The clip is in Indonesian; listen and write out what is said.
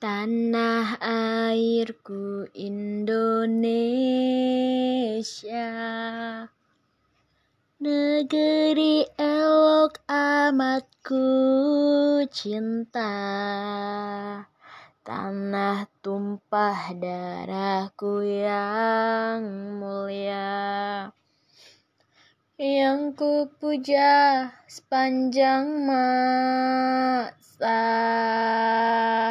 Tanah airku Indonesia, negeri elok amat ku cinta. Tanah tumpah darahku yang mulia, yang ku puja sepanjang masa.